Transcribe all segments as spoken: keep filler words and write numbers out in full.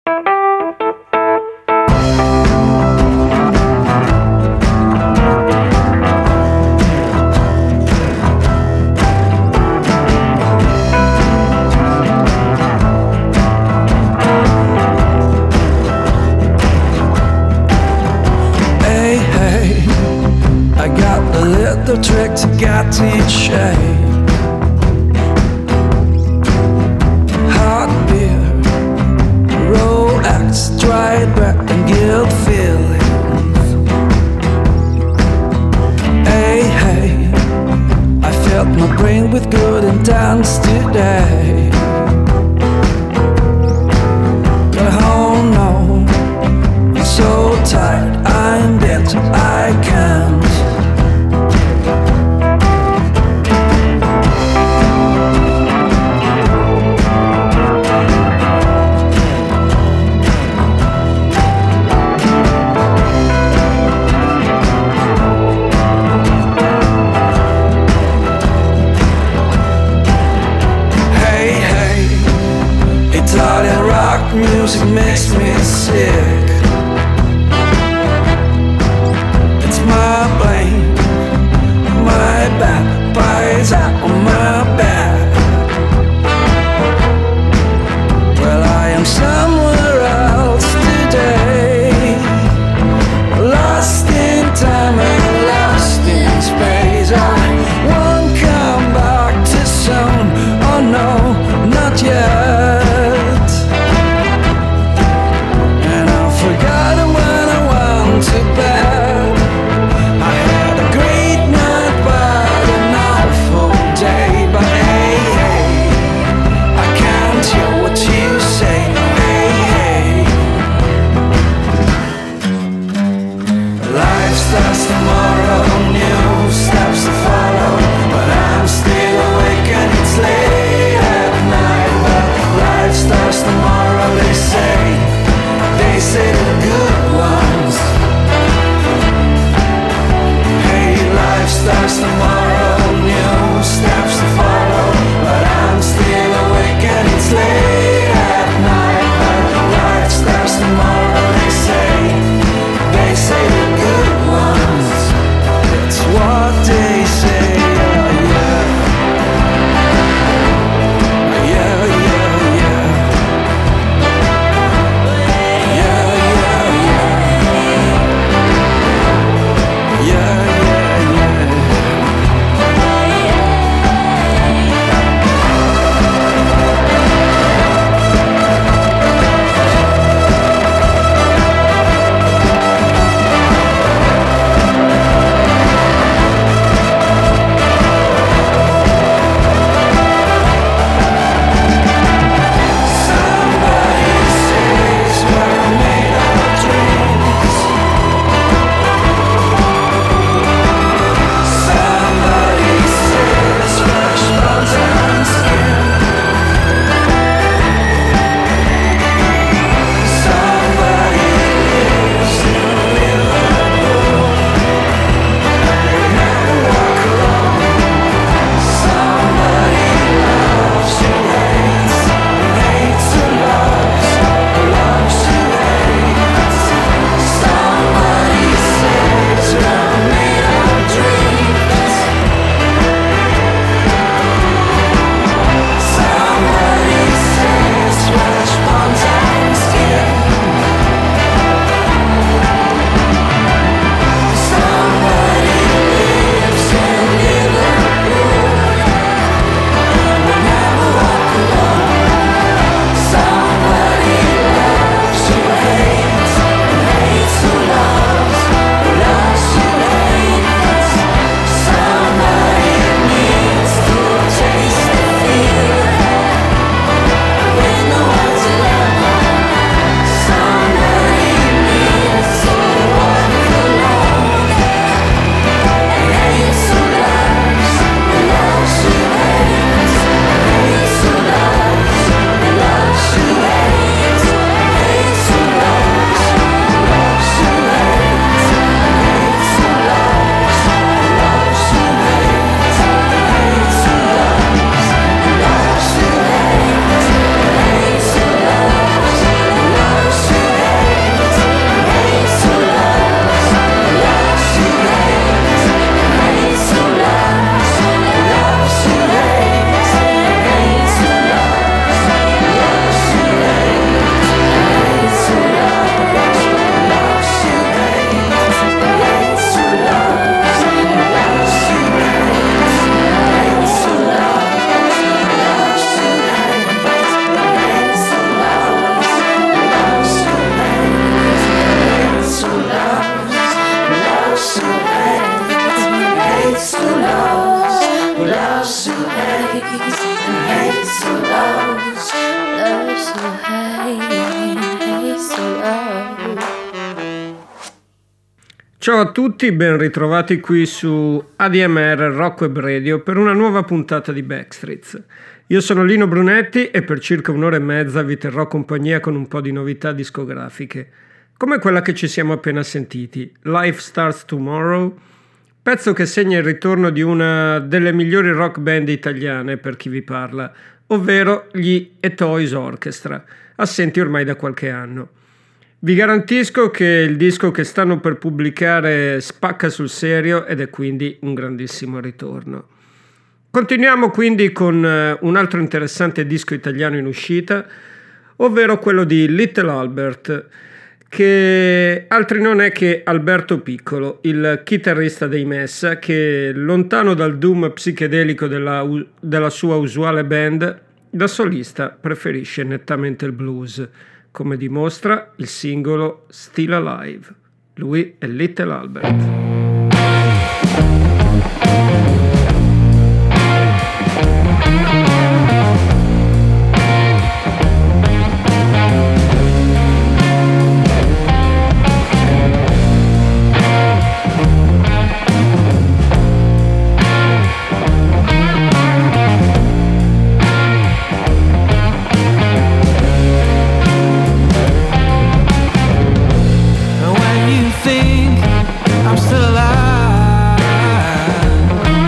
The trick to get in shape. Hot beer, Rolex, dry breath and guilt feelings. Hey, hey, I filled my brain with good intents today. But oh no, I'm so tired, I'm dead, I can't. Music makes me sick. It's my blame, my bad, bites out on my back. Well, I am somewhere else today, lost in time and lost in space. I won't come back too soon. Oh no, not yet. To bed. I had a great night but an awful day. But hey, hey, I can't hear what you say. Hey, Ciao a tutti, ben ritrovati qui su A D M R Rock Web Radio per una nuova puntata di Backstreets. Io sono Lino Brunetti e per circa un'ora e mezza vi terrò compagnia con un po' di novità discografiche, come quella che ci siamo appena sentiti, Life Starts Tomorrow, pezzo che segna il ritorno di una delle migliori rock band italiane per chi vi parla, ovvero gli E Toys Orchestra, assenti ormai da qualche anno. Vi garantisco che il disco che stanno per pubblicare spacca sul serio ed è quindi un grandissimo ritorno. Continuiamo quindi con un altro interessante disco italiano in uscita, ovvero quello di Little Albert, che altri non è che Alberto Piccolo, il chitarrista dei Messa, che lontano dal doom psichedelico della, della sua usuale band, da solista preferisce nettamente il blues, come dimostra il singolo Still Alive. Lui è Little Albert. I'm still alive.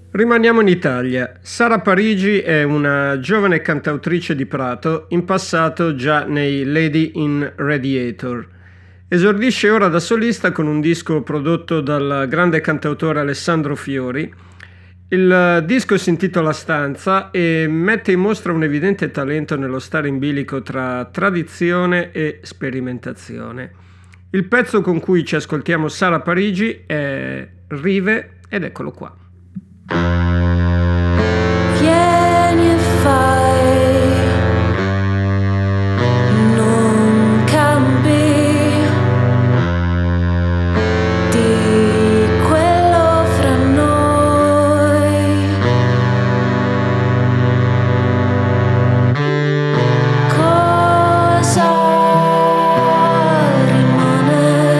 Rimaniamo in Italia. Sara Parigi è una giovane cantautrice di Prato, in passato già nei Lady in Radiator. Esordisce ora da solista con un disco prodotto dal grande cantautore Alessandro Fiori. Il disco si intitola Stanza e mette in mostra un evidente talento nello stare in bilico tra tradizione e sperimentazione. Il pezzo con cui ci ascoltiamo Sara Parigi è Rive ed eccolo qua. Vieni e fai, non cambi di quello fra noi. Cosa rimane?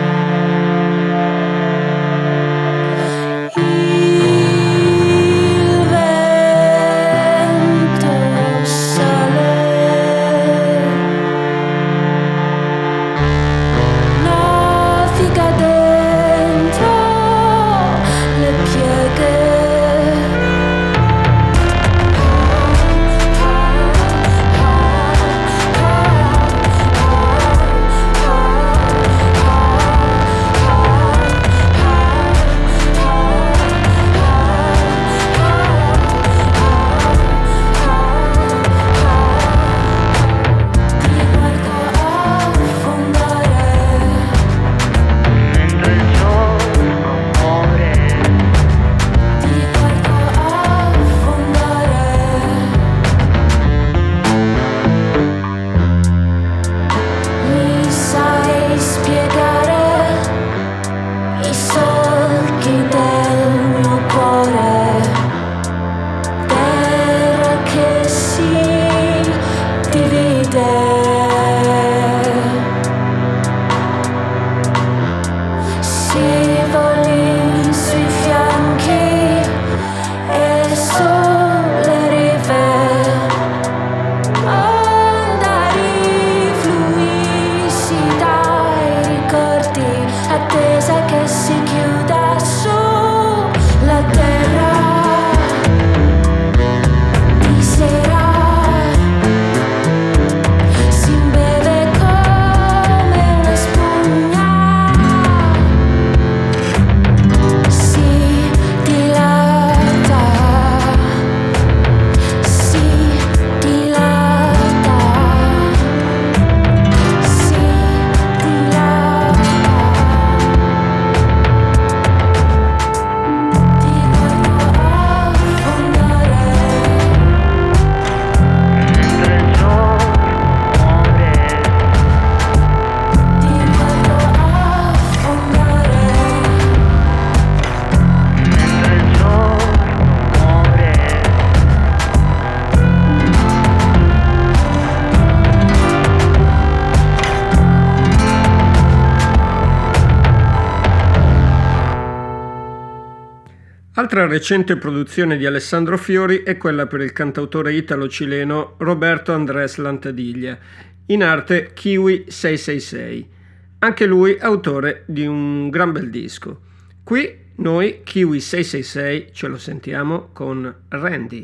Altra recente produzione di Alessandro Fiori è quella per il cantautore italo-cileno Roberto Andrés Lantadiglia, in arte Kiwi sei sei sei. Anche lui autore di un gran bel disco. Qui noi Kiwi sei sei sei ce lo sentiamo con Randy.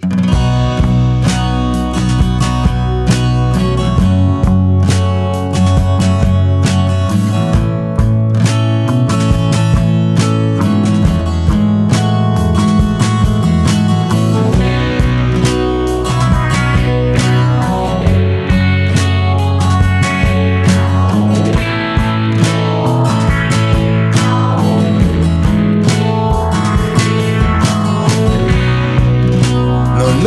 Non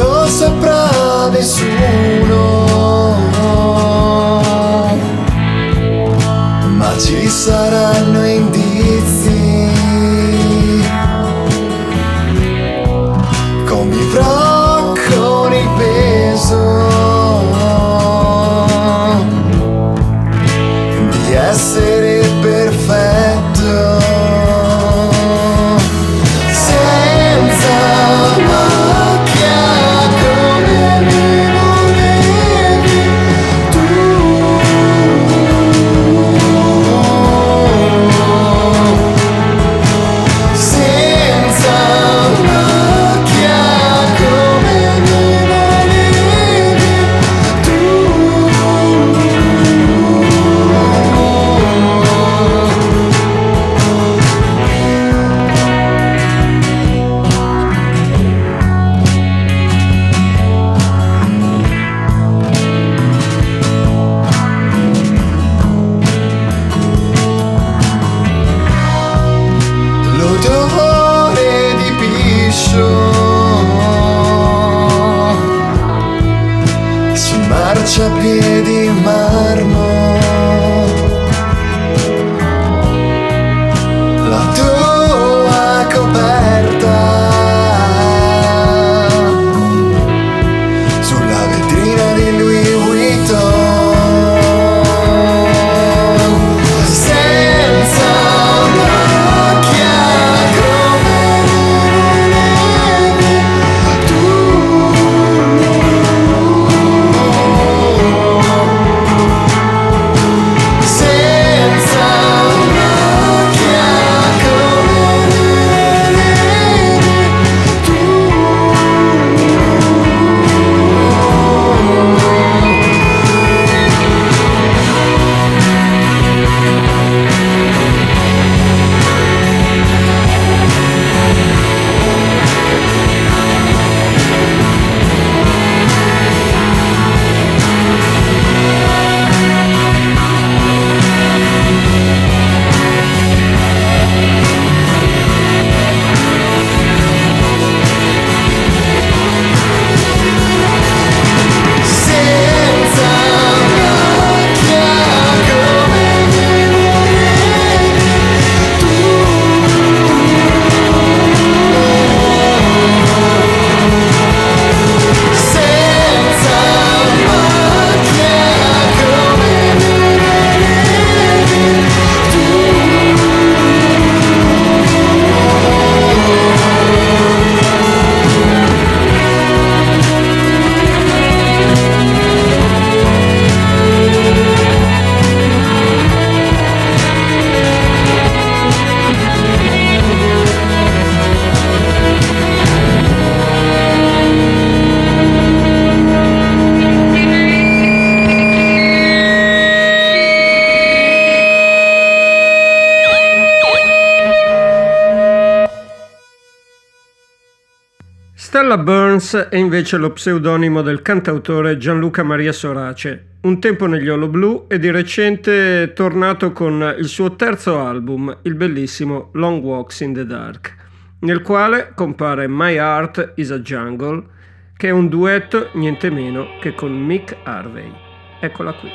Stella Burns è invece lo pseudonimo del cantautore Gianluca Maria Sorace, un tempo negli Hollow Blue e di recente è tornato con il suo terzo album, il bellissimo Long Walks in the Dark, nel quale compare My Heart is a Jungle, che è un duetto niente meno che con Mick Harvey. Eccola qui.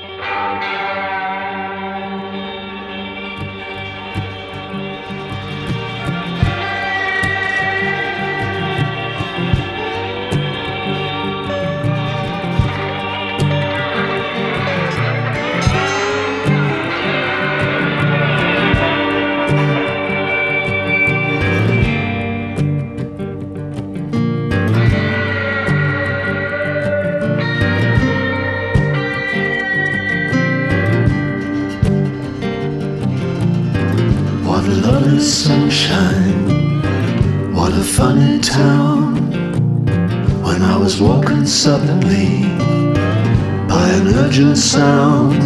Sunshine, what a funny town. When I was walking suddenly by an urgent sound,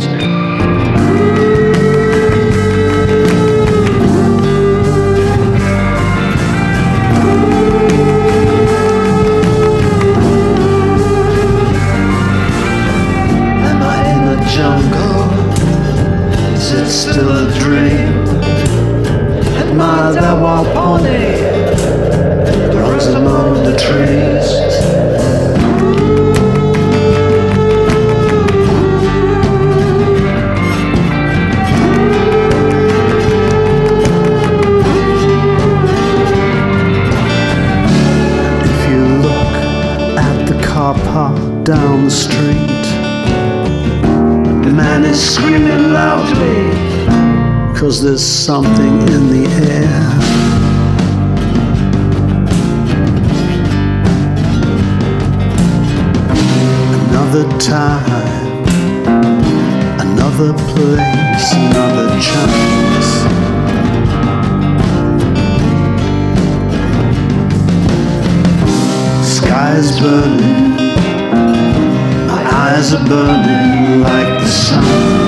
am I in a jungle? Is it still a dream? My Dawa pony runs among the trees. If you look at the car park down the street, the man is screaming loudly, 'cause there's something in the air. Another time, another place, another chance. Sky's burning, my eyes are burning like the sun.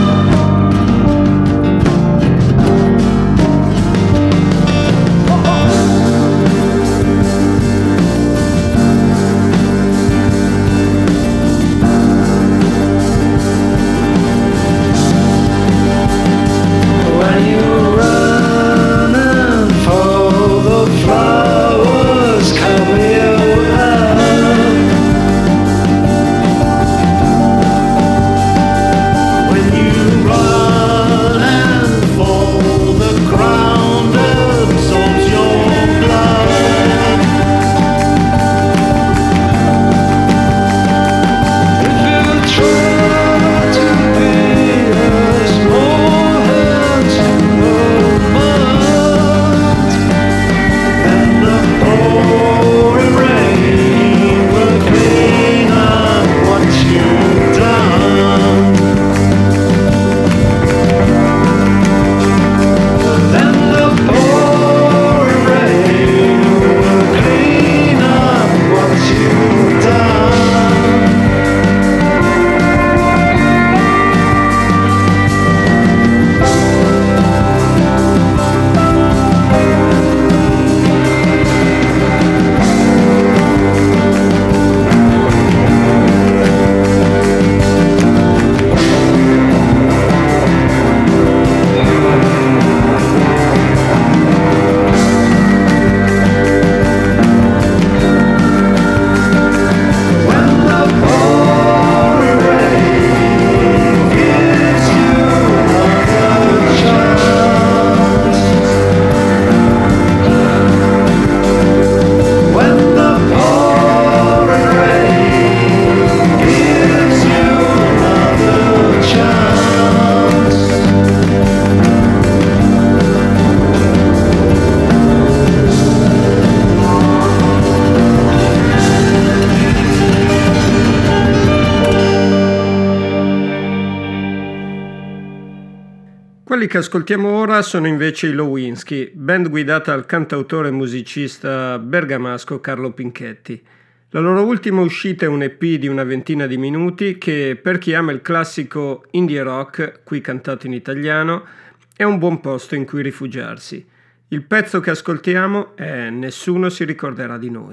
Quelli che ascoltiamo ora sono invece i Lewinsky, band guidata dal cantautore e musicista bergamasco Carlo Pinchetti. La loro ultima uscita è un E P di una ventina di minuti che, per chi ama il classico indie rock, qui cantato in italiano, è un buon posto in cui rifugiarsi. Il pezzo che ascoltiamo è Nessuno si ricorderà di noi.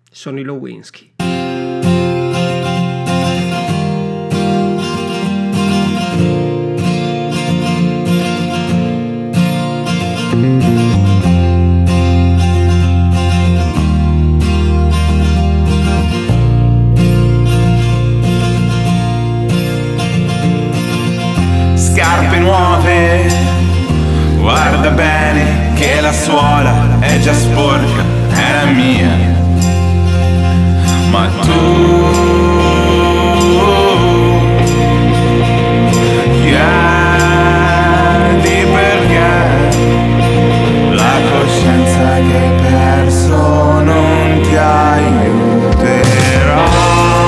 sono i Lewinsky. Scarpe nuove, guarda bene che la suola è già sporca, è la mia. Ma tu chiedi perché la coscienza che hai perso non ti aiuterà.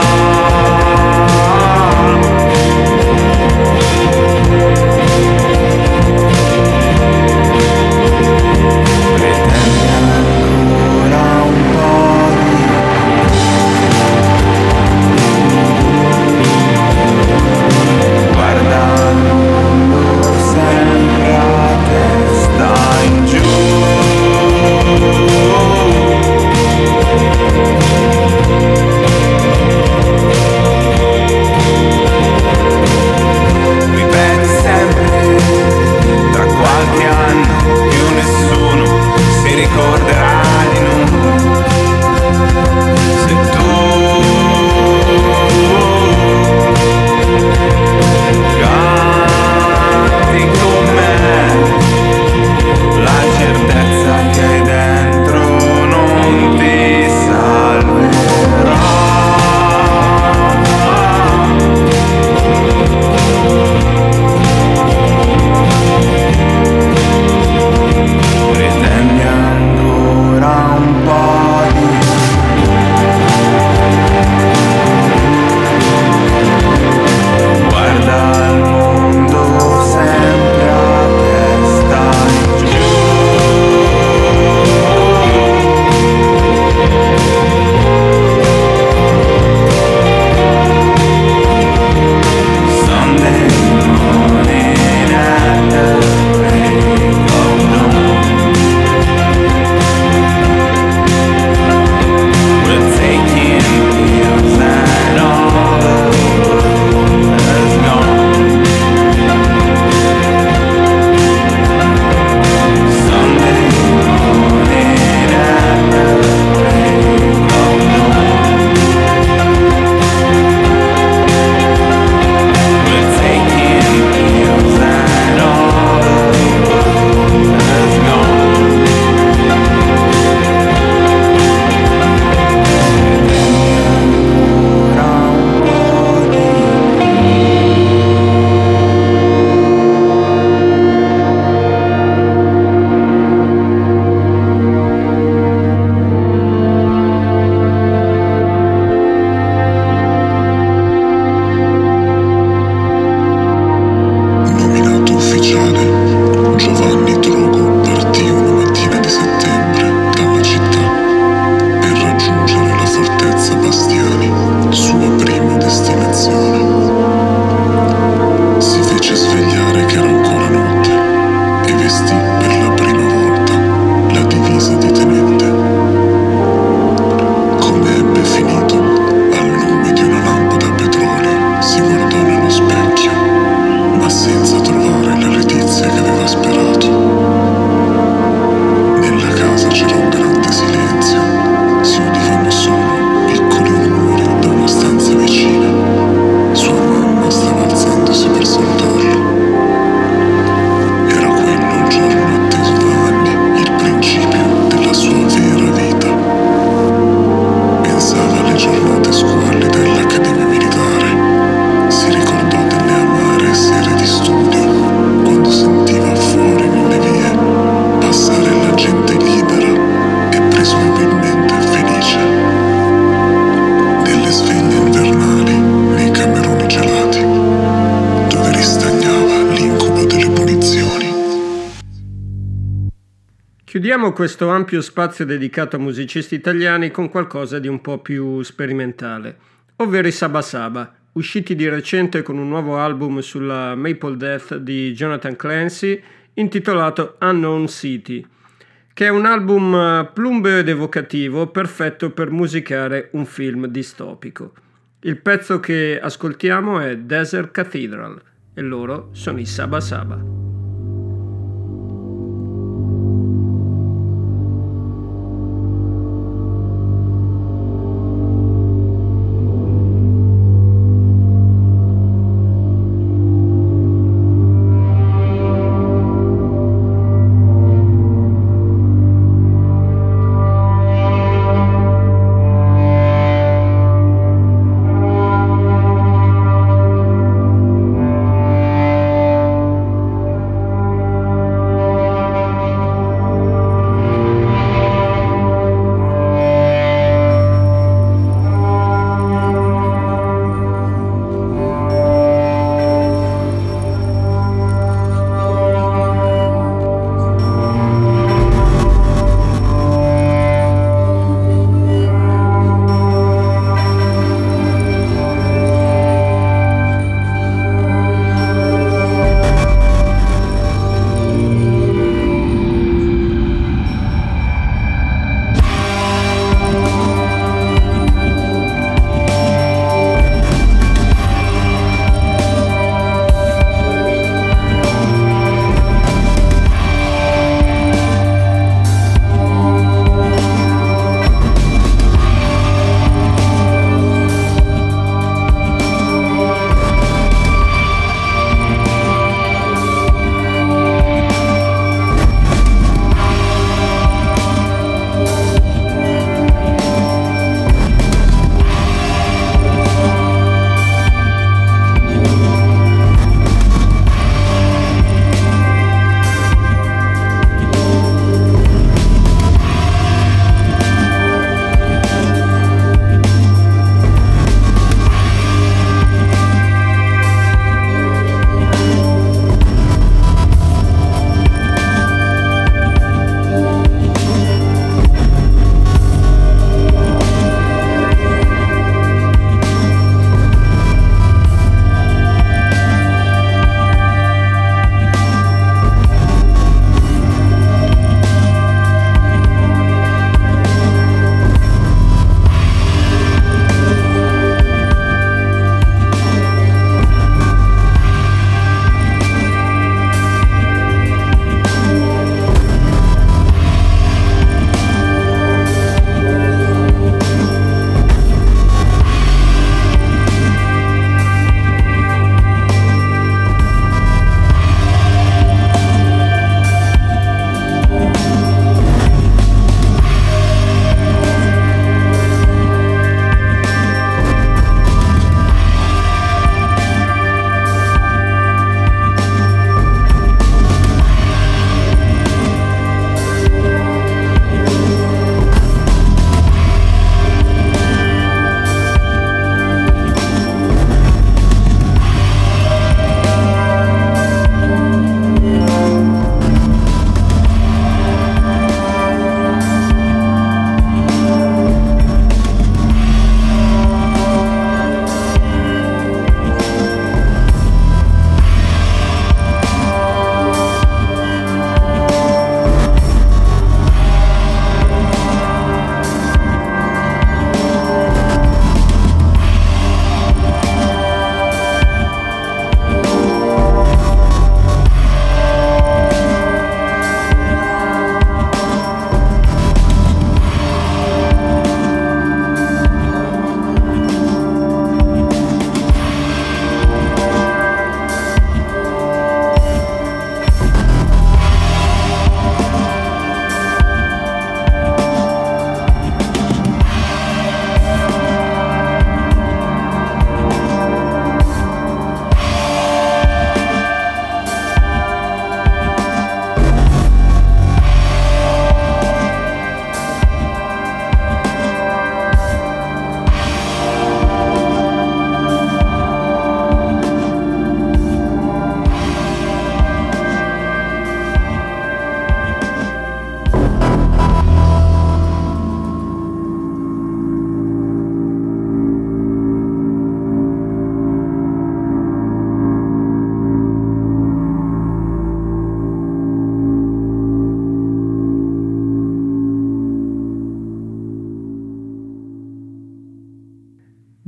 Chiudiamo questo ampio spazio dedicato a musicisti italiani con qualcosa di un po' più sperimentale, ovvero i Saba Saba, usciti di recente con un nuovo album sulla Maple Death di Jonathan Clancy intitolato Unknown City, che è un album plumbeo ed evocativo, perfetto per musicare un film distopico. Il pezzo che ascoltiamo è Desert Cathedral e loro sono i Saba Saba.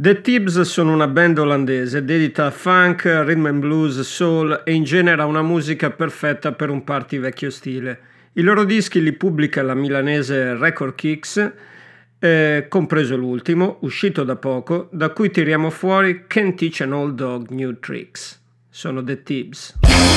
The Tibbs sono una band olandese dedita a funk, rhythm and blues, soul e in genere a una musica perfetta per un party vecchio stile. I loro dischi li pubblica la milanese Record Kicks, eh, compreso l'ultimo, uscito da poco, da cui tiriamo fuori Can't Teach an Old Dog New Tricks. Sono The Tibbs.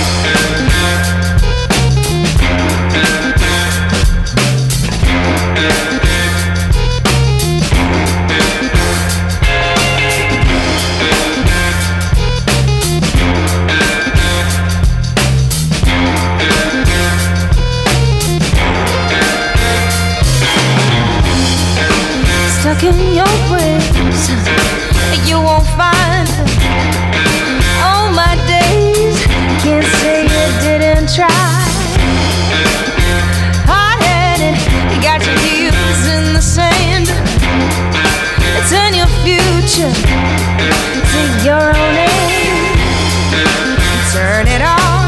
Stuck in your ways, you won't find all my days. Can't say you didn't try. Hard-headed, you got your heels in the sand. Turn your future to your own end. Turn it on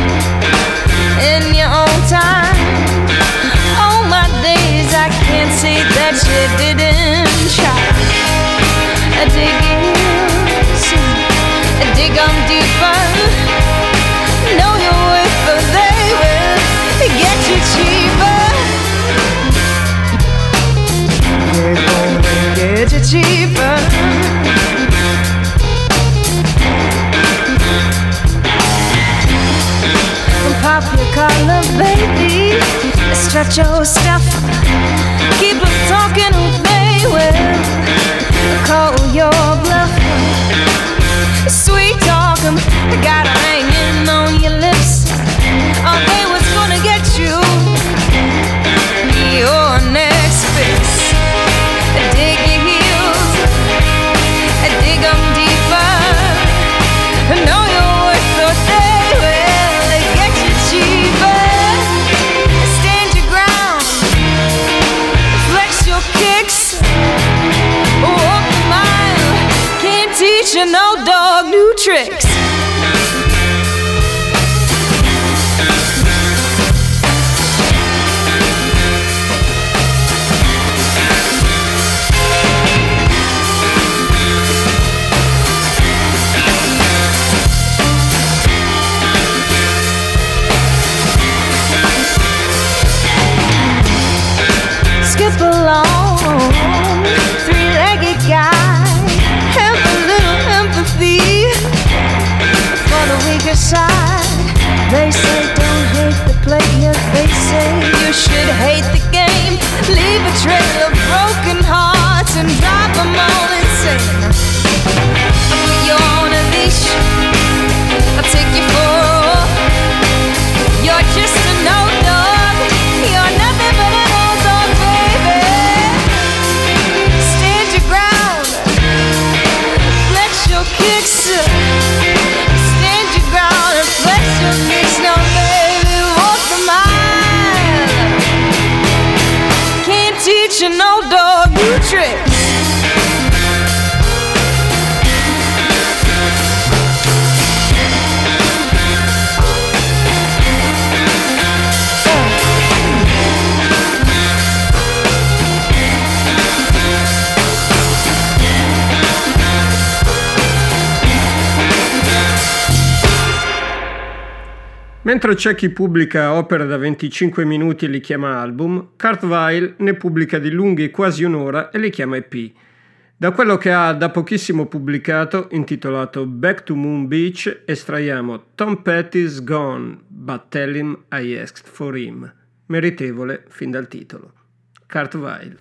in your own time. All my days I can't say that you didn't try. I dig in, I dig on deeper. Know your worth, but they will get you cheaper. They're gonna get you cheaper. Pop your collar, baby. Stretch your stuff. Keep them talking who they will. Call your bluff. Sweet talk 'em, got 'em hanging on your lips. Oh, they was gonna get you. Your next fix. Dig your heels. Dig 'em deeper. Know your worth, so they will get you cheaper. Stand your ground. Flex your kicks. Walk a mile. Can't teach you no dog new tricks. Skip along, three-legged guy. Have a little empathy for the weaker side. They say don't hate the player. They say you should hate the game. Leave a trail of broken hearts and drive them all insane. I'll put you on a leash. I'll take you for a walk. You're just a no dog. You're nothing but an old dog, baby. Stand your ground. Flex your kicks. Stand your ground and flex your kicks. Now, baby, walk the mile. Can't teach you no dog new tricks. Mentre c'è chi pubblica opere da venticinque minuti e li chiama album, Kurt Weill ne pubblica di lunghi quasi un'ora e li chiama E P. Da quello che ha da pochissimo pubblicato, intitolato Back to Moon Beach, estraiamo Tom Petty's Gone, but tell him I asked for him. Meritevole fin dal titolo. Kurt Weill.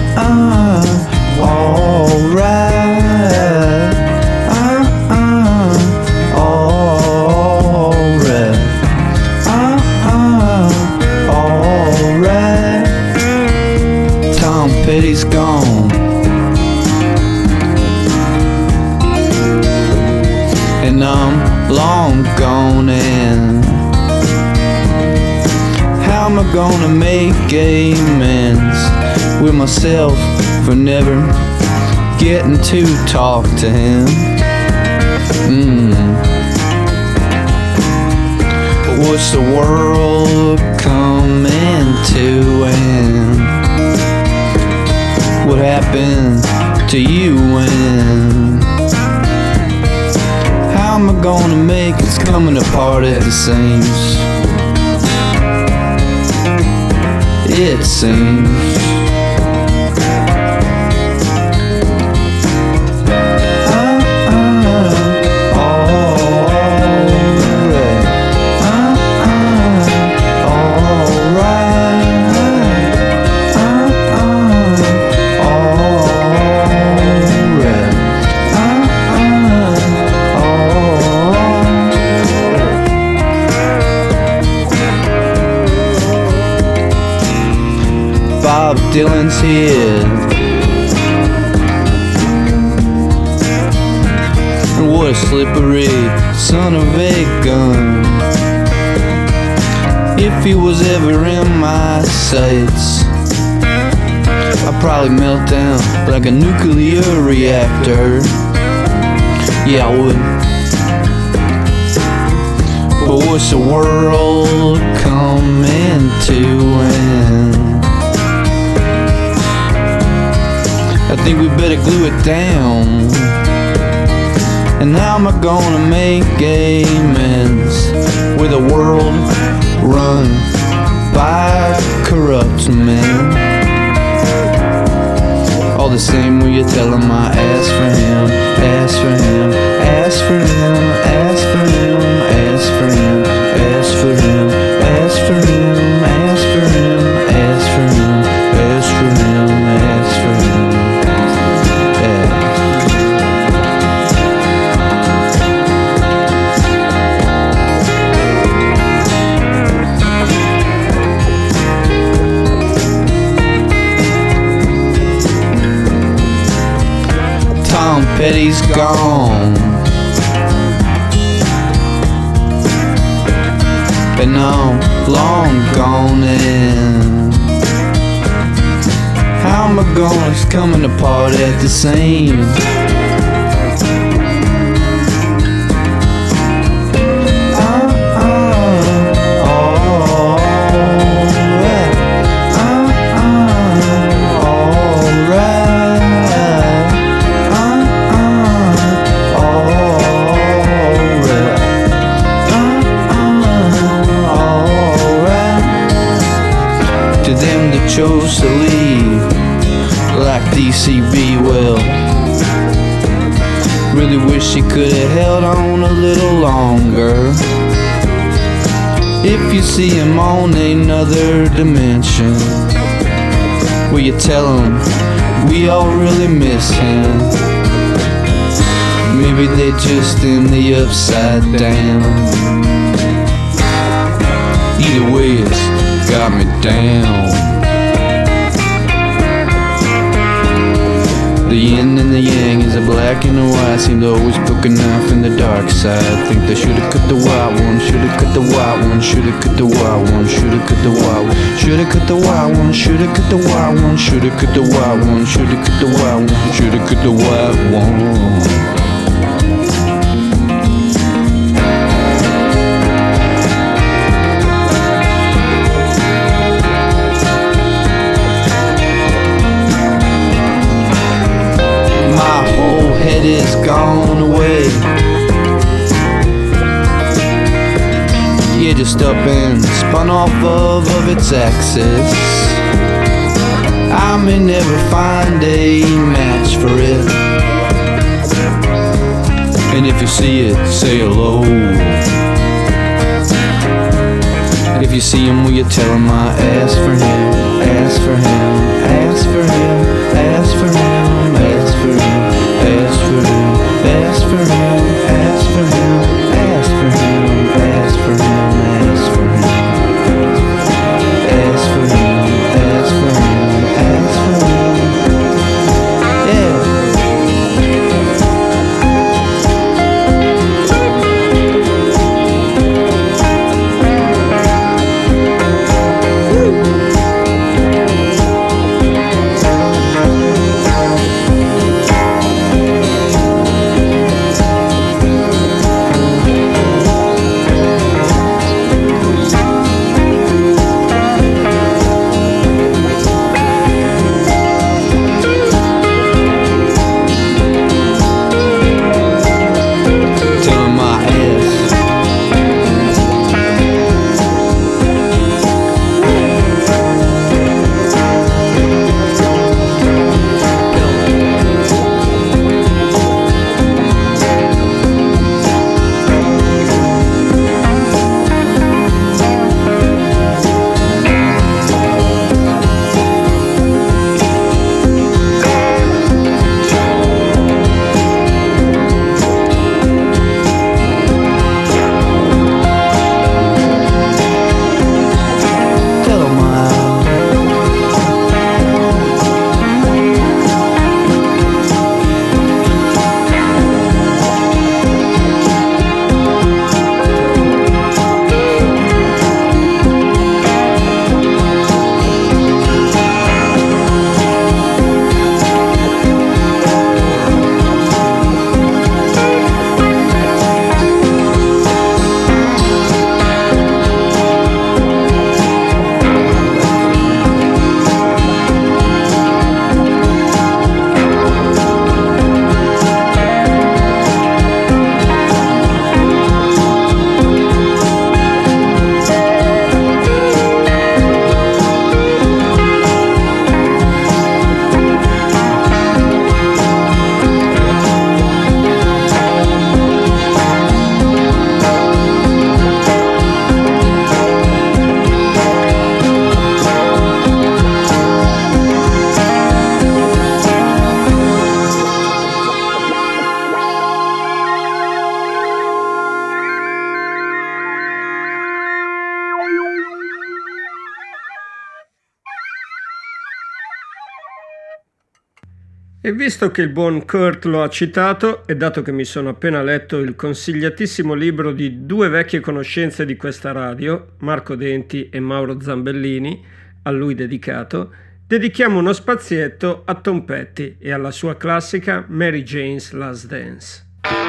Alright, uh, uh, and I'm long gone. And how am I gonna make amends with myself for never getting to talk to him? Mm. What's the world coming to, and what happened to you, and how am I gonna make it's coming apart at the seams? It seems Bob Dylan's here, and what a slippery son of a gun. If he was ever in my sights, I'd probably melt down like a nuclear reactor. Yeah, I would. But what's the world coming to, and I think we better glue it down. And how am I gonna make amends with a world run by corrupt men? All the same when you tell him I ask for him, ask for him, ask for him, ask for him, ask for him, ask for him, ask for him, ask for him, ask for him, ask for him, ask for him. Tom Petty's gone, and I'm long gone. And how am I gonna? It's coming apart at the seams. Chose to leave like D C B, well, really wish he could have held on a little longer. If you see him on another dimension, will you tell him we all really miss him? Maybe they're just in the upside down. Either way, it's got me down. The yin and the yang is a black and a white. Seem to always poke a knife in the dark side. Think they should've cut the white one, should've cut the white one, should've cut the white one, should've cut the white one, should've cut the white one, should've cut the white one, should've cut the white one, should've cut the white one, should've cut the white one. Head is gone away. Yeah, just up and spun off of, of its axis. I may never find a match for it. And if you see it, say hello. And if you see him, will you tell him I asked for him, asked for him, asked for him, asked for him, asked for him. Ask for him, ask for him, ask for him, ask for him, ask for him, ask for him, ask for him, ask for him, ask for him, yeah. E visto che il buon Kurt lo ha citato, e dato che mi sono appena letto il consigliatissimo libro di due vecchie conoscenze di questa radio, Marco Denti e Mauro Zambellini, a lui dedicato, dedichiamo uno spazietto a Tom Petty e alla sua classica Mary Jane's Last Dance.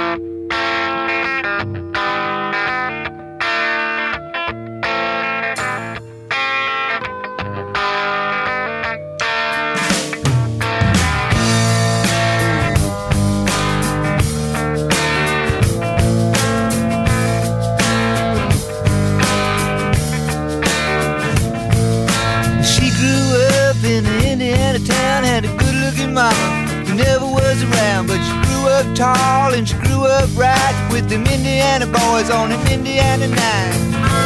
Never was around, but she grew up tall and she grew up right with them Indiana boys on an Indiana night.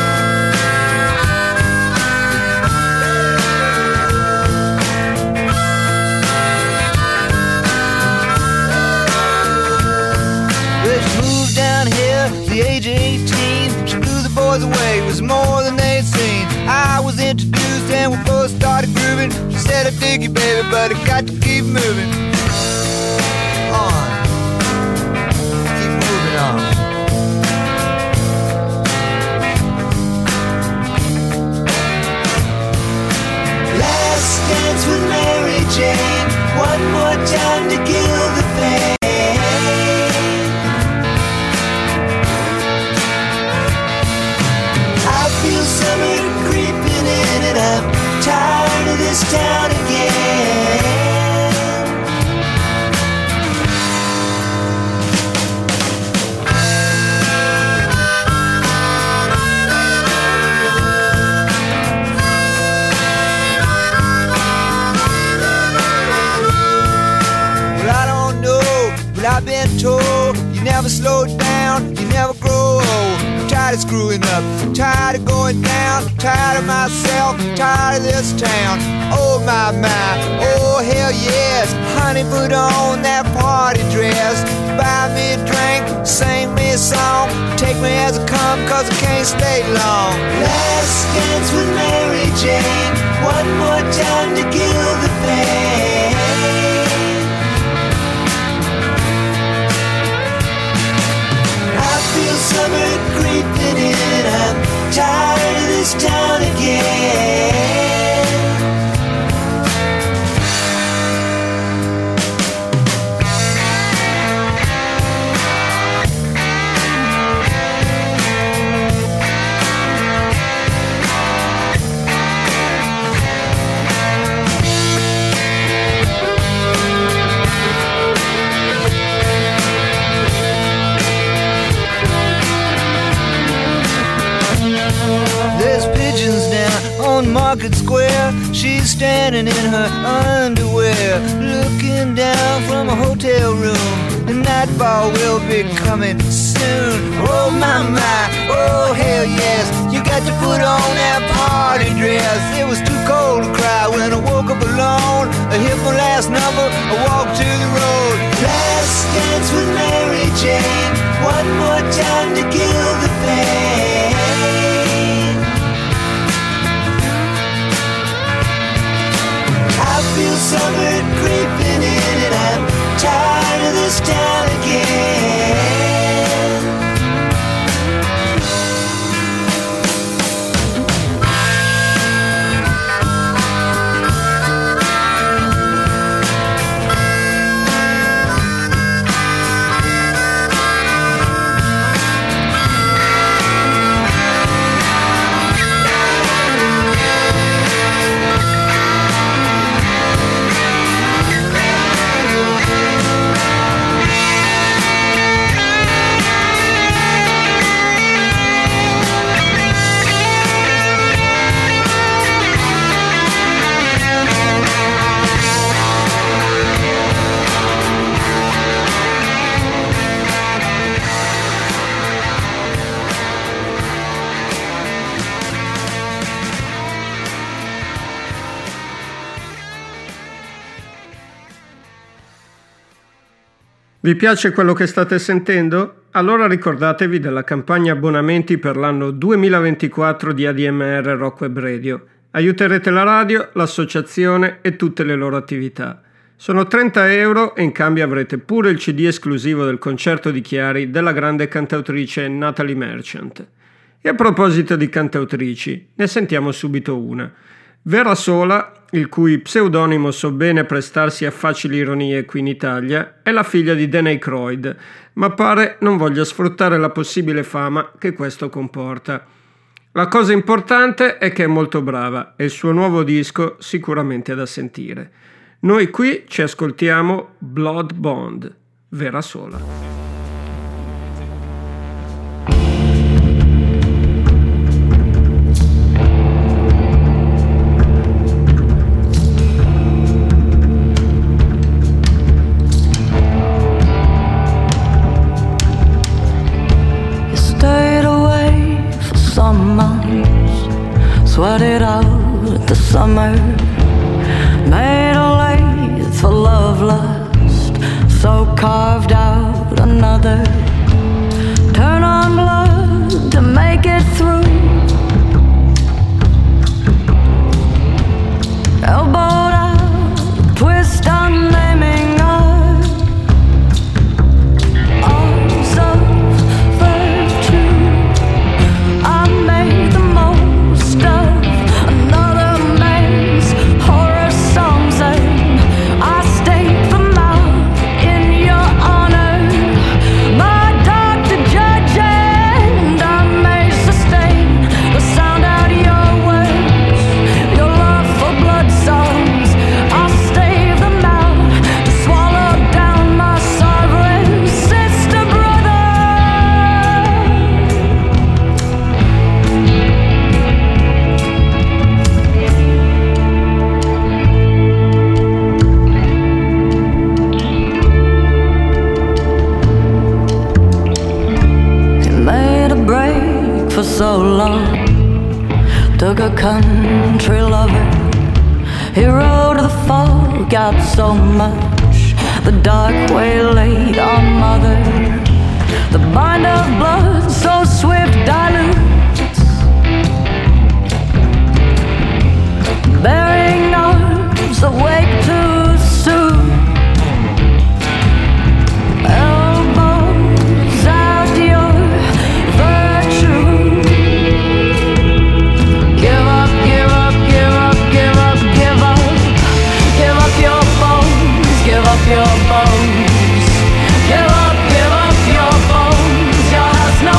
Well, she moved down here at the age of eighteen. She blew the boys away, it was more than they'd seen. I was introduced and we both started grooving. She said, I dig you, baby, but I got to keep moving. On. Keep moving on. Last dance with Mary Jane. One more time to kill the pain. I feel summer creeping in and I'm tired of this town again. I've been told you never slow down, you never grow old. I'm tired of screwing up, tired of going down, tired of myself, tired of this town. Oh my, my, oh hell yes. Honey, put on that party dress. Buy me a drink, sing me a song. Take me as I come, cause I can't stay long. Last dance with Mary Jane. One more time to kill the pain. I feel summer creeping in. I'm tired of this town again. On Market Square, she's standing in her underwear, looking down from a hotel room. The nightfall will be coming soon. Oh my my, oh hell yes. You got to put on that party dress. It was too cold to cry when I woke up alone. I hit my last number, I walked to the road. Last dance with Mary Jane. One more time to kill the pain. I feel summer creeping in and I'm tired of this town again. Vi piace quello che state sentendo? Allora ricordatevi della campagna abbonamenti per l'anno duemilaventiquattro di A D M R Rock Web Radio. Aiuterete la radio, l'associazione e tutte le loro attività. Sono trenta euro e in cambio avrete pure il C D esclusivo del concerto di Chiari della grande cantautrice Natalie Merchant. E a proposito di cantautrici, ne sentiamo subito una. Vera Sola, il cui pseudonimo so bene prestarsi a facili ironie qui in Italia, è la figlia di Dan Aykroyd, ma pare non voglia sfruttare la possibile fama che questo comporta. La cosa importante è che è molto brava e il suo nuovo disco sicuramente è da sentire. Noi qui ci ascoltiamo Blood Bond, Vera Sola. Sweated out the summer, made a lathe for love lust, so carved out another. Turn on blood to make it through. Elbowed out, twist on naming us. Arms of virtue, I made the most of another man's horror songs, and I staked them out in your honor. My doctor, judge, and I may sustain the sound out your words. Your love for blood songs, I'll stave them out to swallow down my sovereign sister brother. He made a break for so long, took a country lover. He rode the fog out so much, the dark waylaid our mother. The bind of blood so swift dilutes, bearing arms awake too soon. Elbows out your virtue. Give up, give up, give up, give up, give up. Give up your bones, give up your bones. Give up, give up your bones. Your house no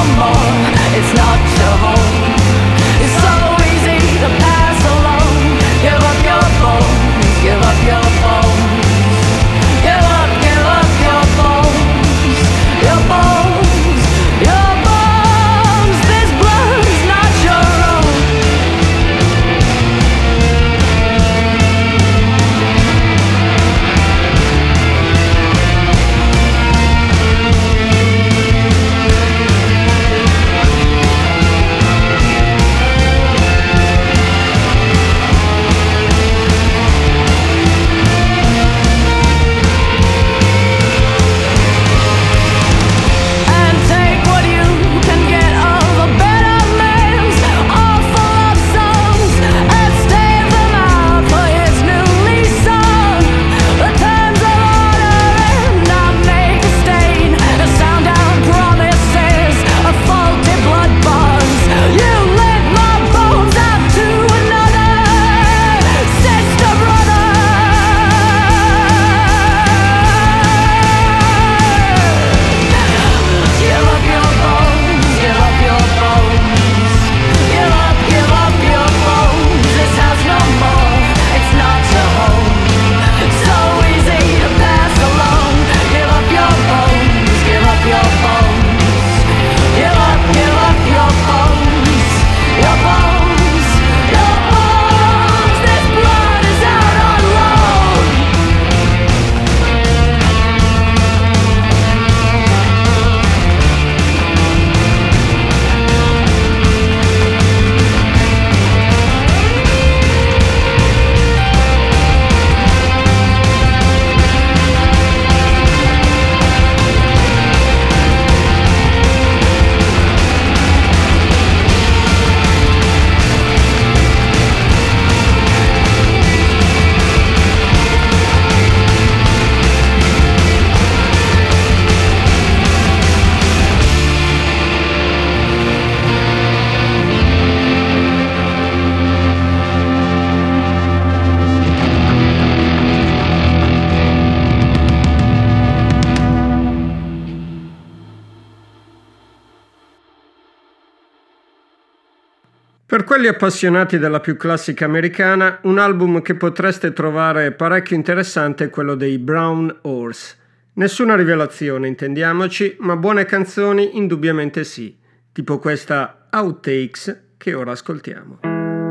Per quelli appassionati della più classica americana, un album che potreste trovare parecchio interessante è quello dei Brown Horse. Nessuna rivelazione, intendiamoci, ma buone canzoni indubbiamente sì, tipo questa Outtakes che ora ascoltiamo.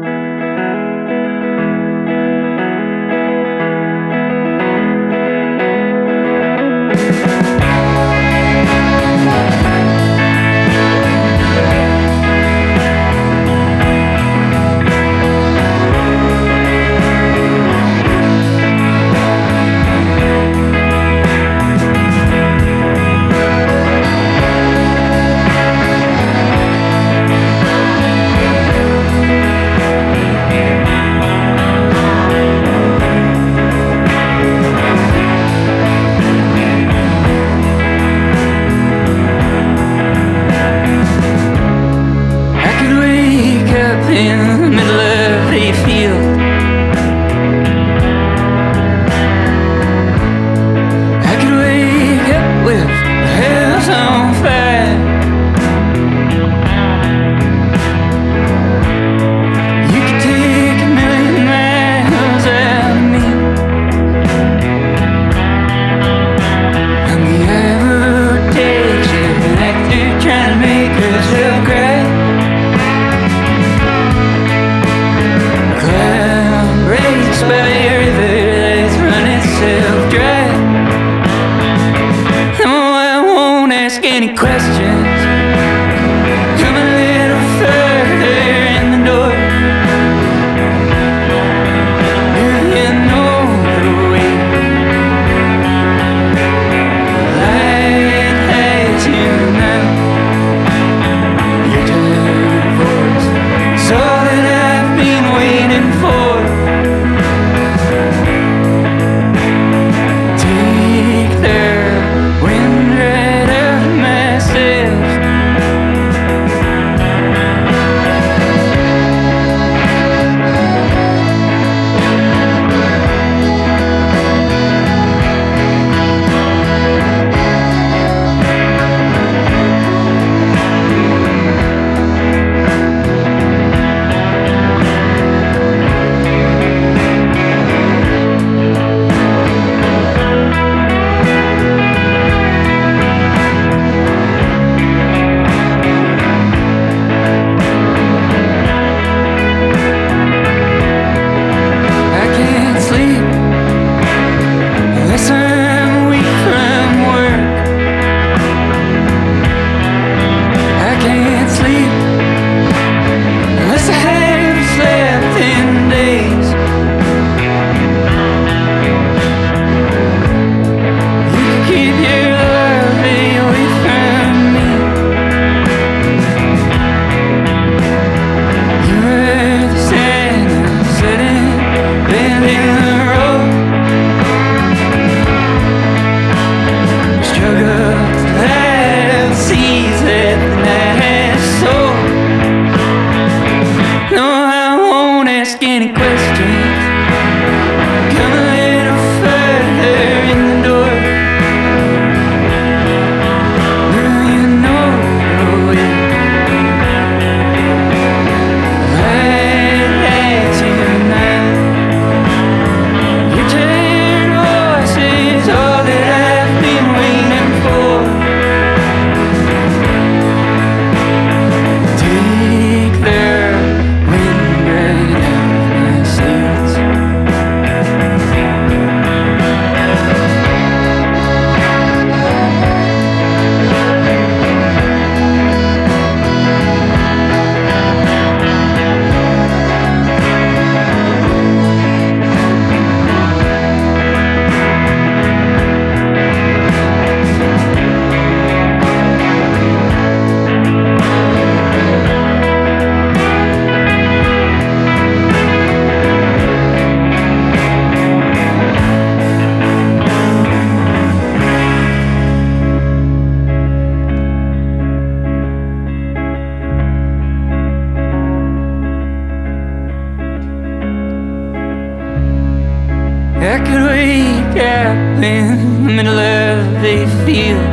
I could wake up in the middle of a field.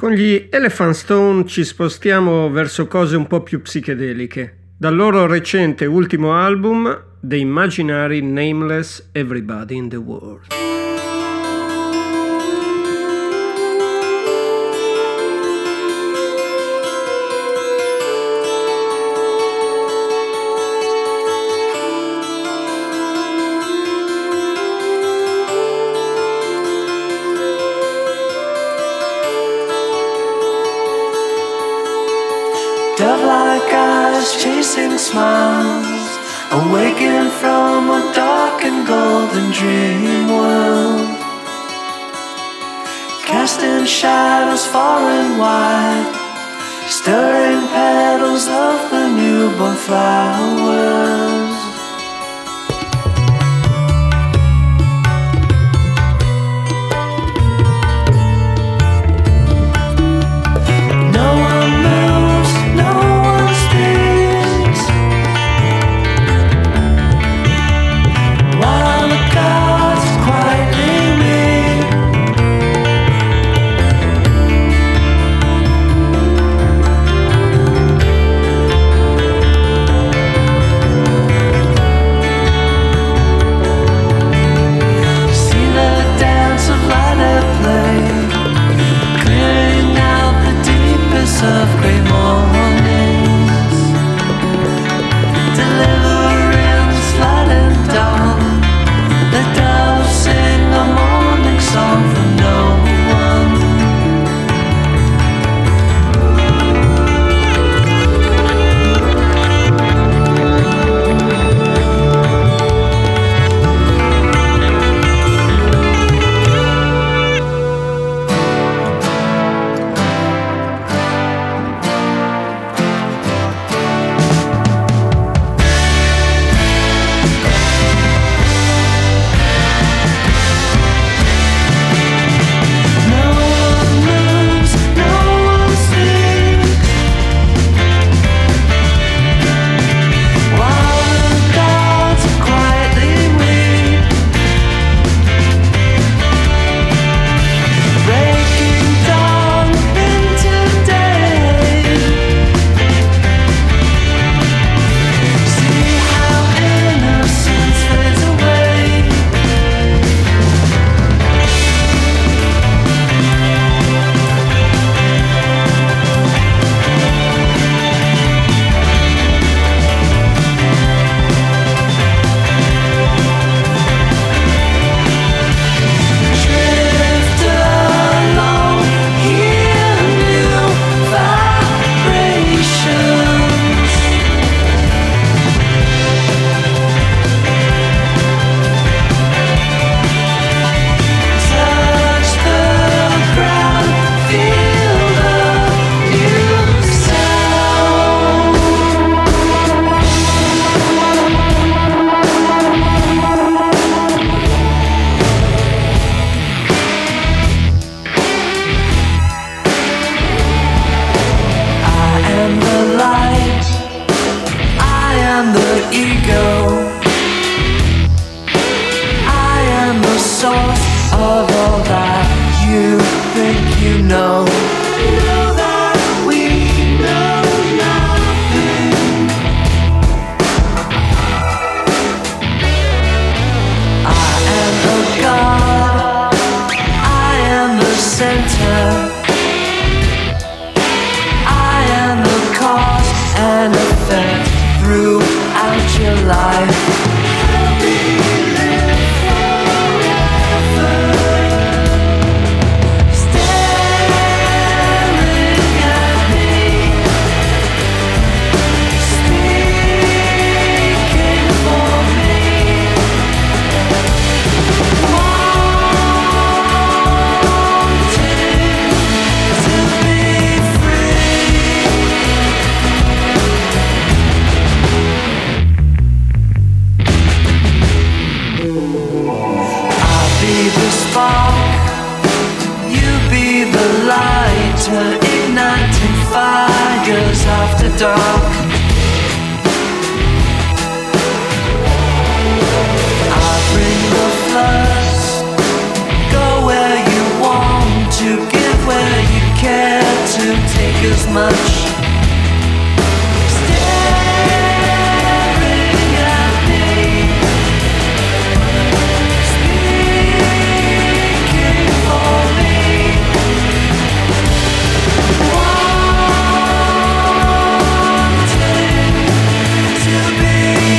Con gli Elephant Stone ci spostiamo verso cose un po' più psichedeliche. Dal loro recente ultimo album, The Imaginary Nameless Everybody in the World. Dove-like eyes chasing smiles, awaken from a dark and golden dream world, casting shadows far and wide, stirring petals of the newborn flowers. Of great mornings, deliverance light and dawn. The doves sing a morning song for no one. To give where you can. care to take as much. Staring at me, speaking for me, wanting to be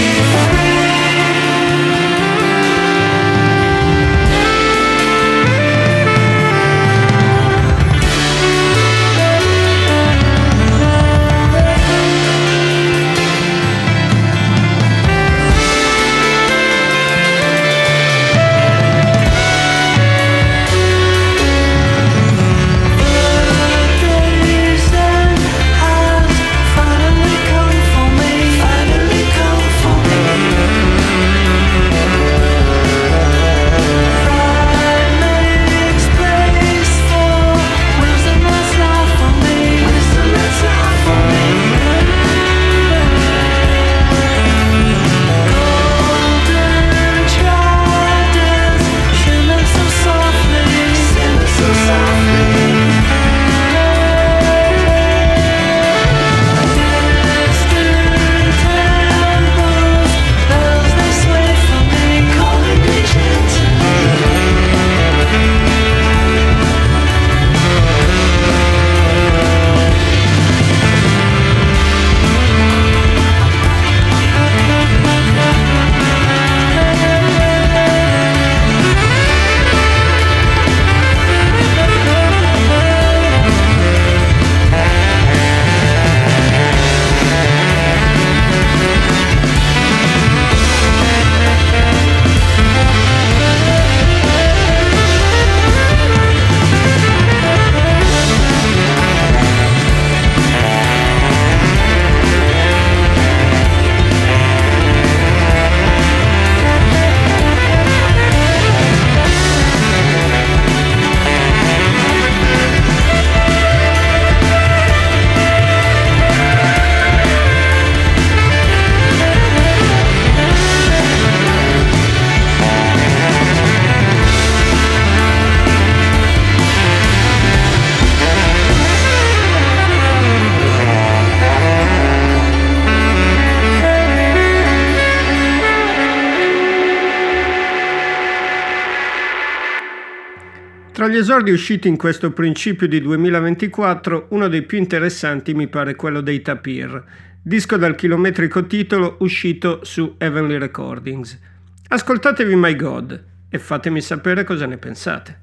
Tra gli esordi usciti in questo principio di duemilaventiquattro, uno dei più interessanti mi pare quello dei Tapir, disco dal chilometrico titolo uscito su Heavenly Recordings. Ascoltatevi My God e fatemi sapere cosa ne pensate.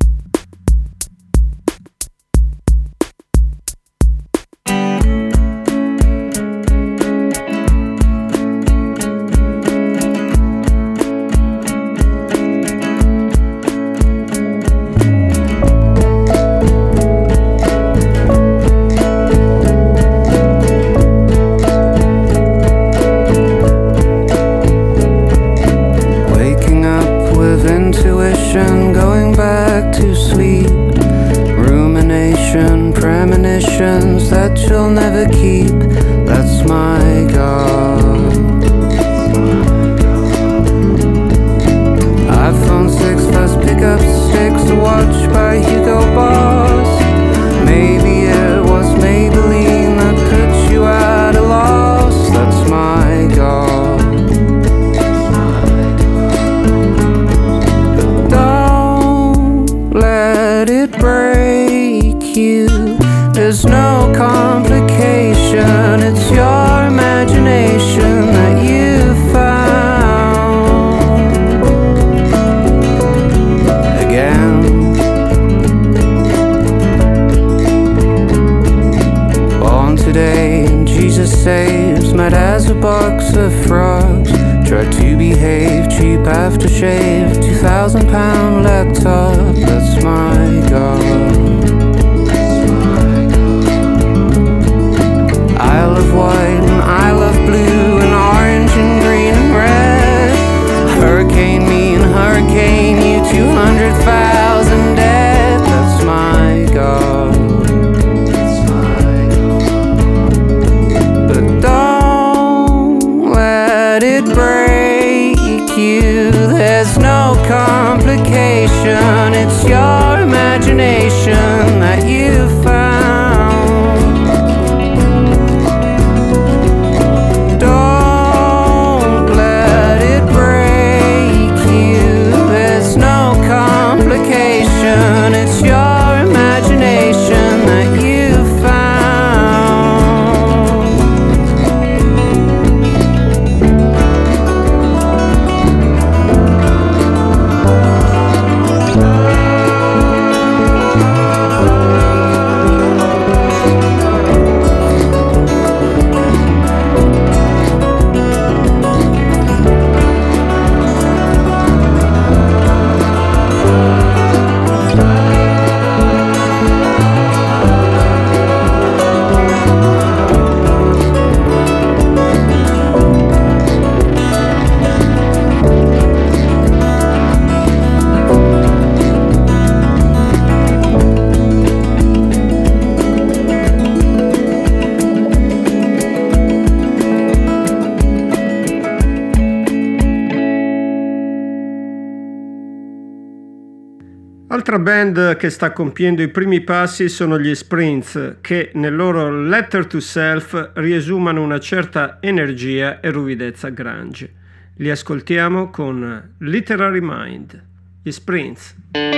Going back to sleep, rumination, premonitions that you'll never keep. That's my God. iPhone six first pickup sticks to watch by Hugo Boss. Maybe it was Maybelline that put you at a loss. That's my God. Let it break you. There's no complication. It's your imagination that you found again. Born today, Jesus saves. Mad as a box of frogs. Tried to behave, cheap aftershave, two thousand pound laptop, that's my God. I love white and I love blue and orange and green and red. Hurricane me and hurricane you, two hundred thousand dead, that's my God. But don't let it break you. There's no complication. It's your imagination that you found. Altra band che sta compiendo i primi passi sono gli Sprints, che nel loro Letter to Self riesumano una certa energia e ruvidezza grunge. Li ascoltiamo con Literary Mind, gli Sprints.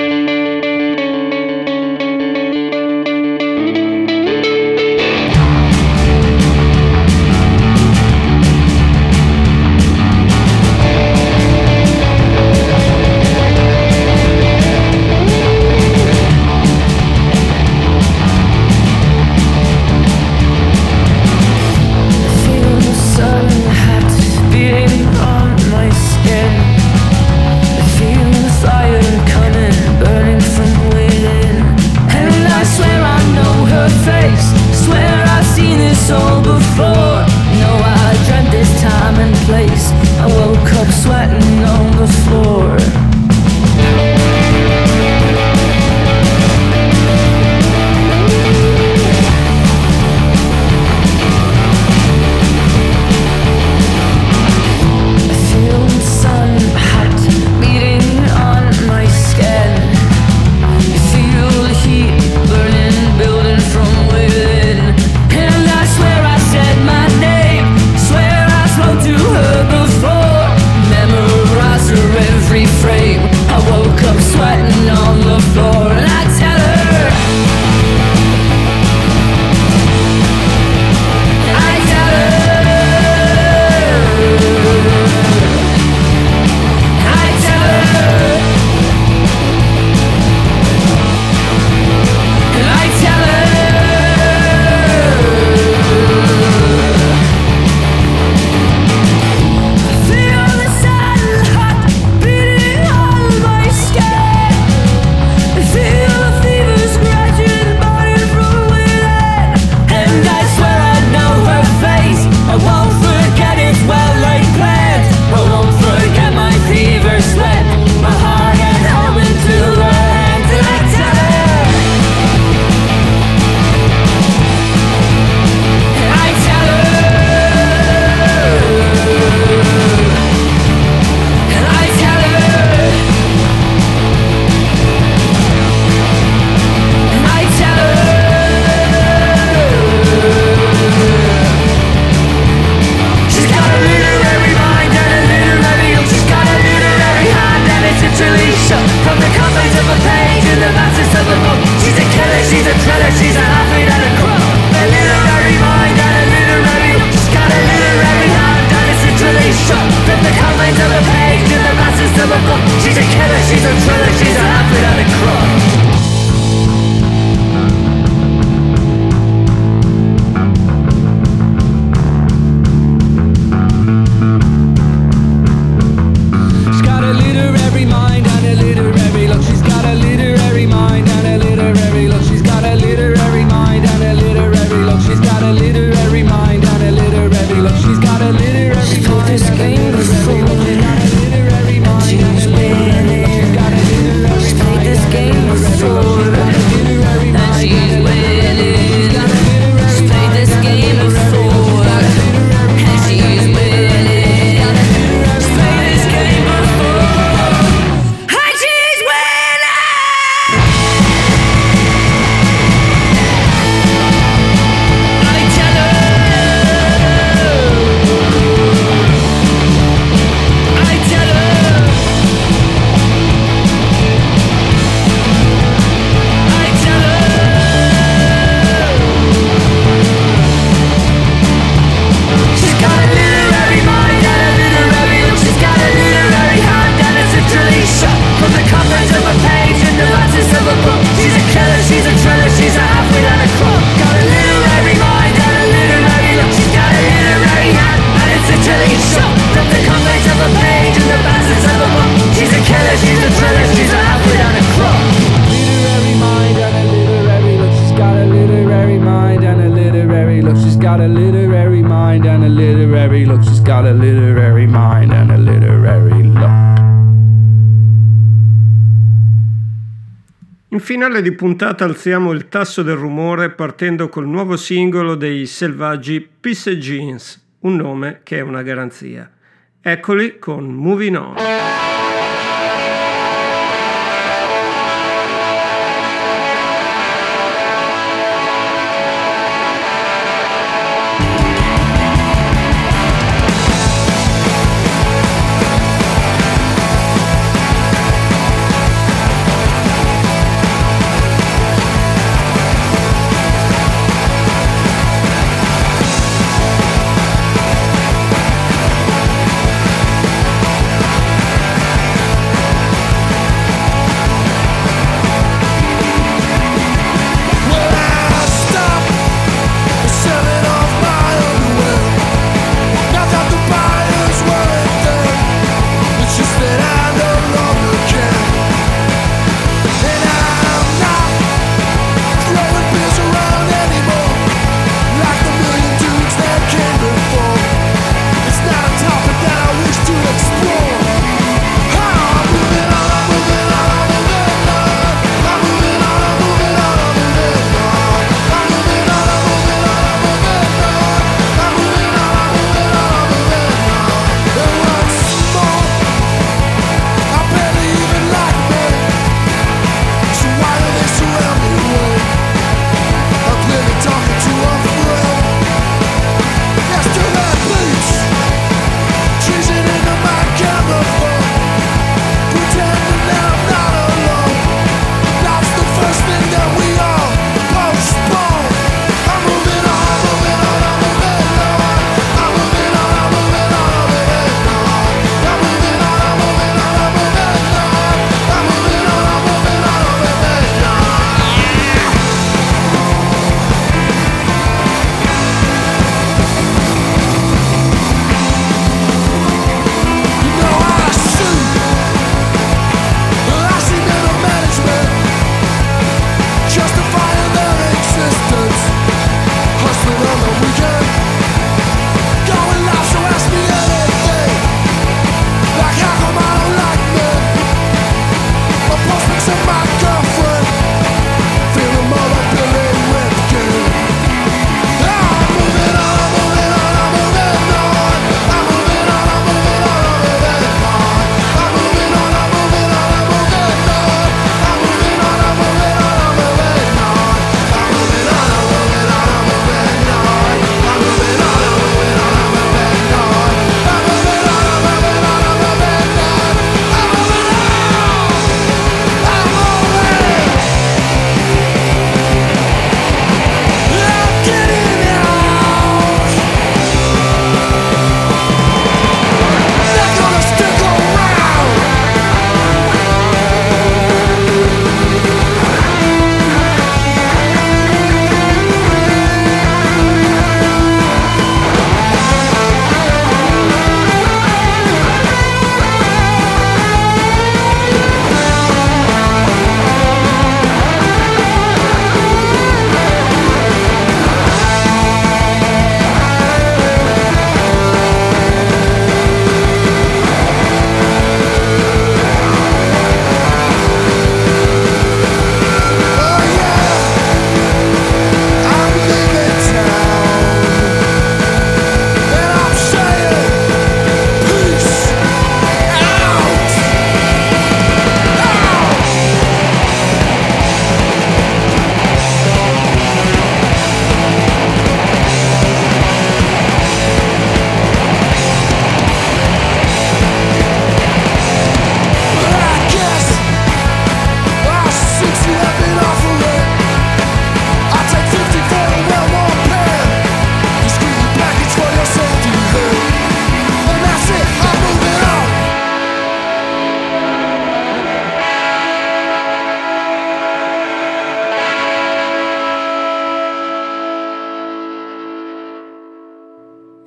In finale di puntata alziamo il tasso del rumore partendo col nuovo singolo dei Selvaggi Peace Jeans, un nome che è una garanzia. Eccoli con Moving On.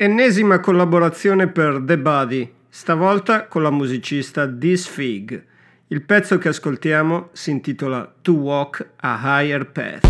Ennesima collaborazione per The Body, stavolta con la musicista This Fig. Il pezzo che ascoltiamo si intitola To Walk a Higher Path.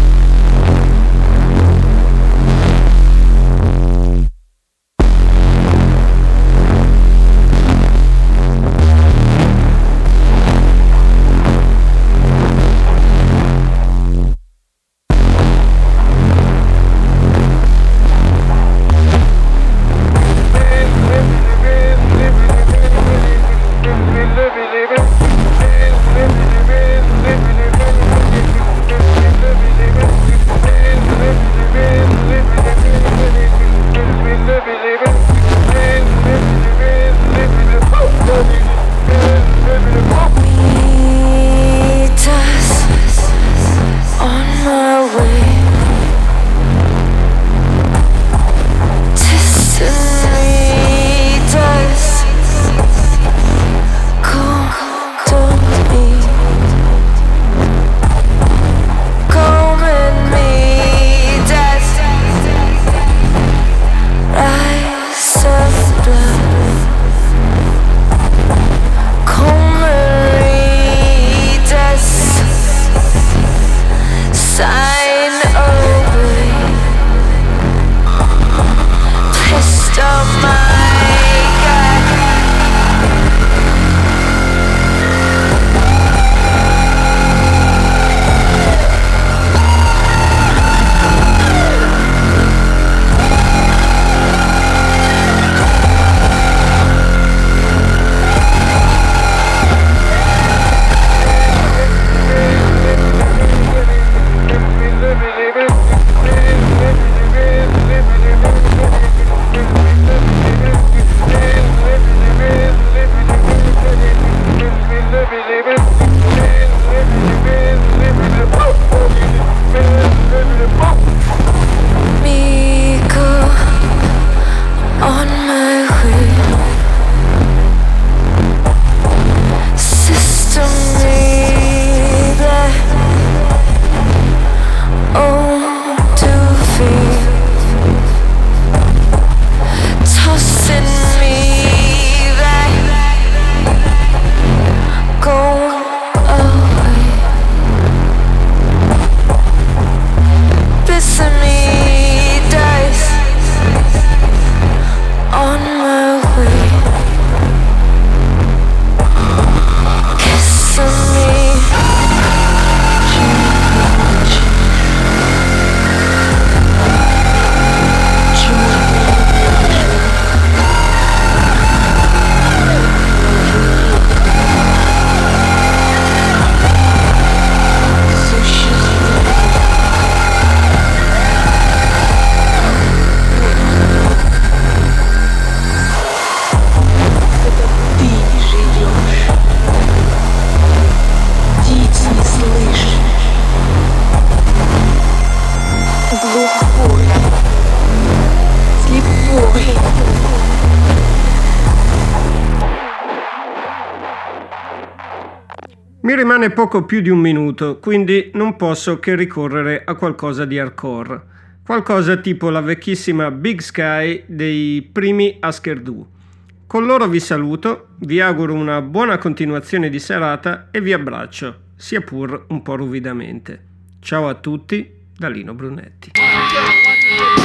Mi rimane poco più di un minuto, quindi non posso che ricorrere a qualcosa di hardcore. Qualcosa tipo la vecchissima Big Sky dei primi Husker Du. Con loro vi saluto, vi auguro una buona continuazione di serata e vi abbraccio, sia pur un po' ruvidamente. Ciao a tutti, da Lino Brunetti.